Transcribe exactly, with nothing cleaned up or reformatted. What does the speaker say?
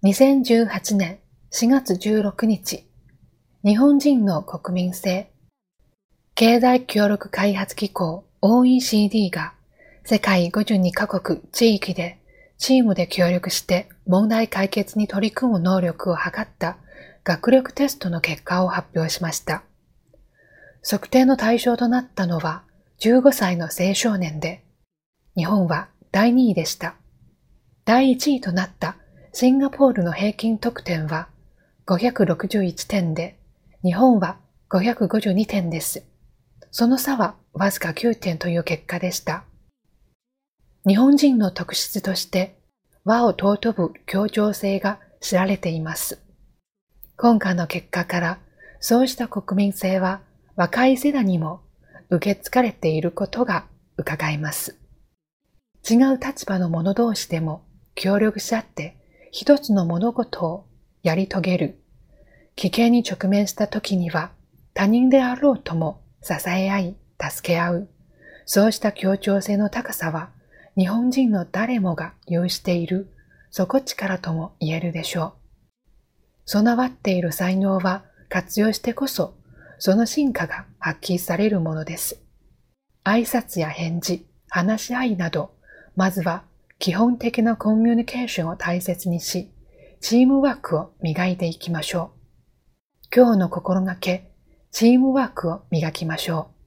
にせんじゅうはちねんしがつじゅうろくにち、日本人の国民性、経済協力開発機構 オーイーシーディー が世界ごじゅうにカ国地域でチームで協力して問題解決に取り組む能力を測った学力テストの結果を発表しました。測定の対象となったのはじゅうごさいの青少年で、日本はだいにいでした。だいいちいとなったシンガポールの平均得点はごひゃくろくじゅういちてんで、日本はごひゃくごじゅうにてんです。その差はわずかきゅうてんという結果でした。日本人の特質として和を尊ぶ協調性が知られています。今回の結果からそうした国民性は若い世代にも受け継がれていることが伺えます。違う立場の者同士でも協力し合って一つの物事をやり遂げる。危険に直面した時には他人であろうとも支え合い、助け合う。そうした協調性の高さは日本人の誰もが有している底力とも言えるでしょう。備わっている才能は活用してこそその進化が発揮されるものです。挨拶や返事、話し合いなど、まずは基本的なコミュニケーションを大切にし、チームワークを磨いていきましょう。今日の心がけ、チームワークを磨きましょう。